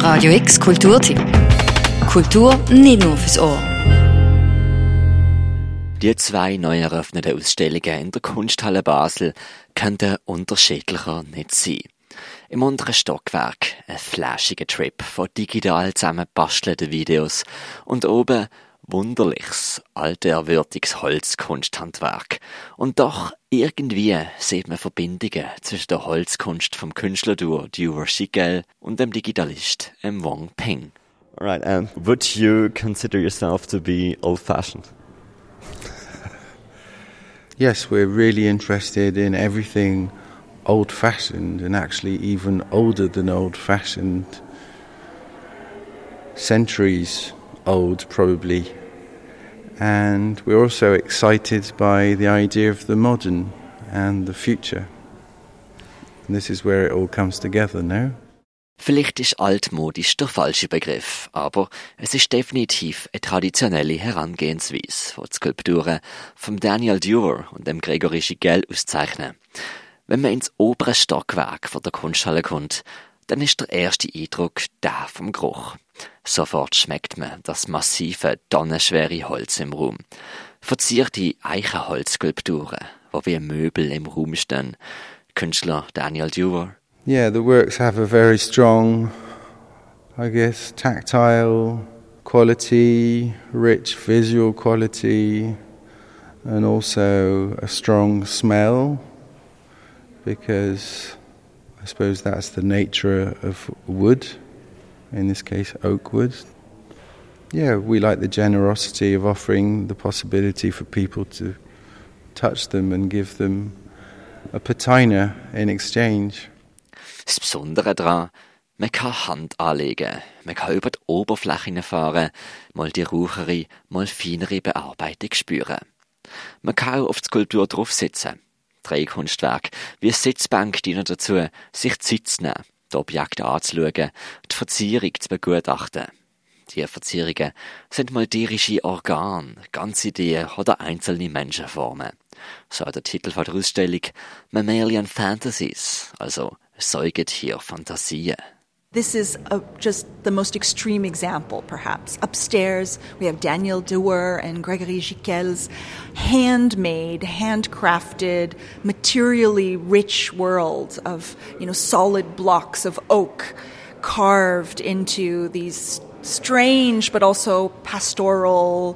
Radio X Kulturtipp. Kultur nicht nur fürs Ohr. Die 2 neu eröffneten Ausstellungen in der Kunsthalle Basel könnten unterschiedlicher nicht sein. Im unteren Stockwerk ein flashiger Trip von digital zusammengebastelten Videos und oben wunderliches, altehrwürdiges Holzkunsthandwerk. Und doch irgendwie sieht man Verbindungen zwischen der Holzkunst vom Künstlerduo Dewar Schickel und dem Digitalist Wong Ping. Alright, would you consider yourself to be old-fashioned? Yes, we're really interested in everything old-fashioned and actually even older than old-fashioned. Centuries old, probably. And we're also excited by the idea of the modern and the future. And this is where it all comes together, no? Vielleicht ist altmodisch der falsche Begriff, aber es ist definitiv eine traditionelle Herangehensweise, die die Skulpturen von Daniel Dewar und dem Gregory Schickel auszeichnen. Wenn man ins obere Stockwerk von der Kunsthalle kommt, dann ist der erste Eindruck der vom Geruch. Sofort schmeckt man das massive, tonnenschwere Holz im Raum. Verzierte Eichenholzskulpturen, die wie Möbel im Raum stehen. Künstler Daniel Dewar. Yeah, the works have a very strong, I guess, tactile quality, rich visual quality, and also a strong smell, because I suppose that's the nature of wood, in this case oak wood. Yeah, we like the generosity of offering the possibility for people to touch them and give them a patina in exchange. Das Besondere daran, man kann Hand anlegen, man kann über die Oberfläche fahren, mal die rauchere, mal feinere Bearbeitung spüren. Man kann auch auf die Skulptur draufsitzen. 3 Kunstwerke wie eine Sitzbank dienen dazu, sich Zeit zu nehmen, die Objekte anzuschauen, die Verzierung zu begutachten. Die Verzierungen sind mal tierische Organe, ganze Ideen oder einzelne Menschenformen. So der Titel der Ausstellung Mammalian Fantasies, also Säugetier-Fantasien. This is just the most extreme example, perhaps. Upstairs, we have Daniel Dewar and Gregory Schickel's handmade, handcrafted, materially rich world of, solid blocks of oak carved into these strange but also pastoral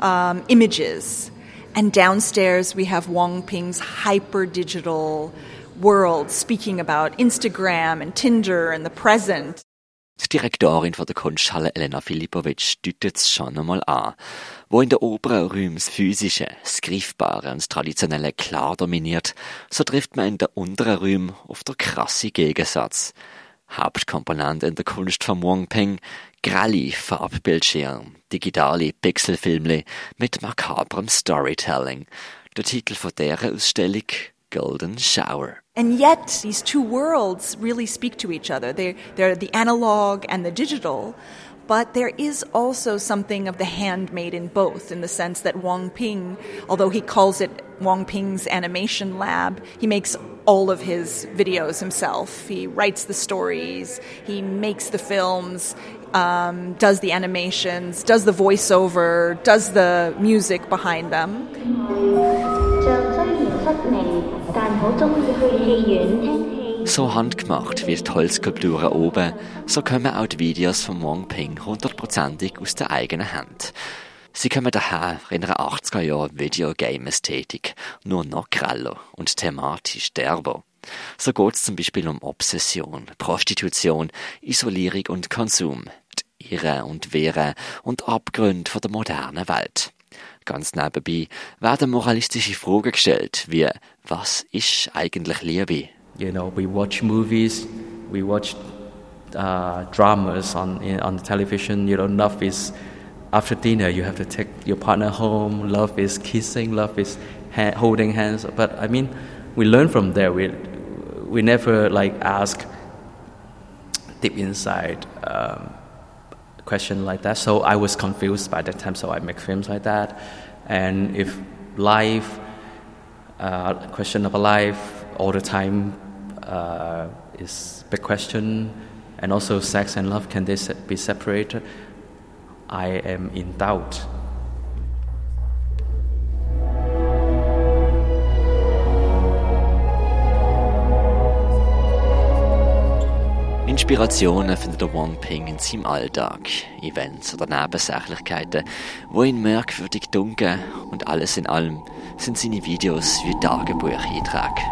images. And downstairs, we have Wong Ping's hyper-digital world, speaking about Instagram and Tinder and the present. Die Direktorin von der Kunsthalle Elena Filipovic deutet es schon einmal an. Wo in den oberen Räumen das Physische, das Greifbare und das Traditionelle klar dominiert, so trifft man in den unteren Räumen auf den krassen Gegensatz. Hauptkomponente in der Kunst von Wong Ping, grelle Farbbildschirme, digitale Pixelfilmle mit makabrem Storytelling. Der Titel von dieser Ausstellung Golden Shower. And yet, these two worlds really speak to each other. They're the analog and the digital, but there is also something of the handmade in both, in the sense that Wong Ping, although he calls it Wong Ping's Animation Lab, he makes all of his videos himself. He writes the stories, he makes the films, does the animations, does the voiceover, does the music behind them. So handgemacht wie die Holzskulpturen oben, so kommen auch die Videos von Wong Ping 100%ig aus der eigenen Hand. Sie kommen daher in einer 80er-Jahre-Videogame-Ästhetik, nur noch greller und thematisch derber. So geht es zum Beispiel um Obsession, Prostitution, Isolierung und Konsum, die Irren und Wehren und Abgründe von der modernen Welt. Ganz nebenbei werden moralistische Fragen gestellt, wie was ist eigentlich Liebe? We watch movies, we watch dramas on the television. Love is after dinner. You have to take your partner home. Love is kissing. Love is holding hands. But I mean, we learn from there. We never ask deep inside question like that. So I was confused by that time. So I make films like that. And if life, question of life all the time is big question, And also sex and love, can they be separated? I am in doubt. Inspirationen findet der Wang Ping in seinem Alltag, Events oder Nebensächlichkeiten, wo ihn merkwürdig dunkel, und alles in allem sind seine Videos wie Tagebucheinträge.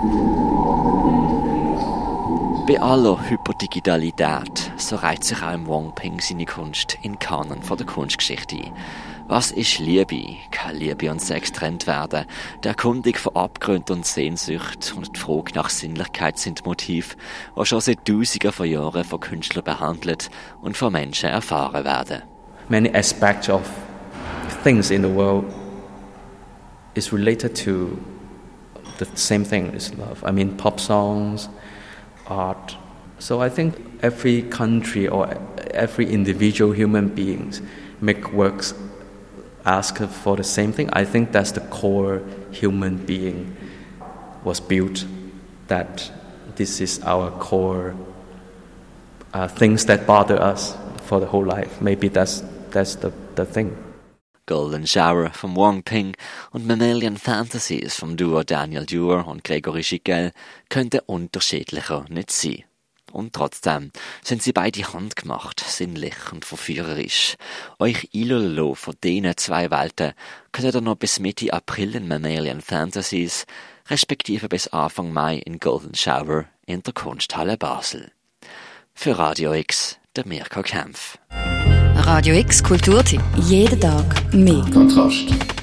Bei aller Hyperdigitalität, so reiht sich auch im Wang Ping seine Kunst in Kanon von der Kunstgeschichte ein. Was ist Liebe? Kann Liebe und Sex getrennt werden? Die Erkundung von Abgründen und Sehnsucht und die Frage nach Sinnlichkeit sind Motive, die schon seit Tausenden von Jahren von Künstlern behandelt und von Menschen erfahren werden. Many aspects of things in the world is related to the same thing as love. I mean, pop songs, art. So I think every country or every individual human beings make works ask for the same thing. I think that's the core human being was built, that this is our core things that bother us for the whole life. Maybe that's the thing. Golden Shower vom Wang Ping und Mammalian Fantasies vom Duo Daniel Dewar und Gregory Giquel könnten unterschiedlicher nicht sein. Und trotzdem sind sie beide handgemacht, sinnlich und verführerisch. Euch einlullen von diesen zwei Welten könnt ihr noch bis Mitte April in Mammalian Fantasies, respektive bis Anfang Mai in Golden Shower in der Kunsthalle Basel. Für Radio X, der Mirko Kempf. Radio X Kulturtipp. Jeden Tag mehr. Kontrast.